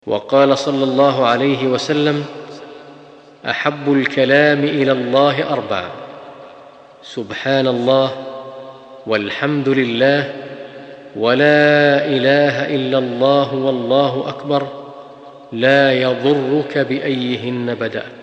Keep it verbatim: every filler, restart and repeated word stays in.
وقال صلى الله عليه وسلم: احب الكلام الى الله اربع: سبحان الله، والحمد لله، ولا اله الا الله، والله اكبر، لا يضرك بايهن بدات.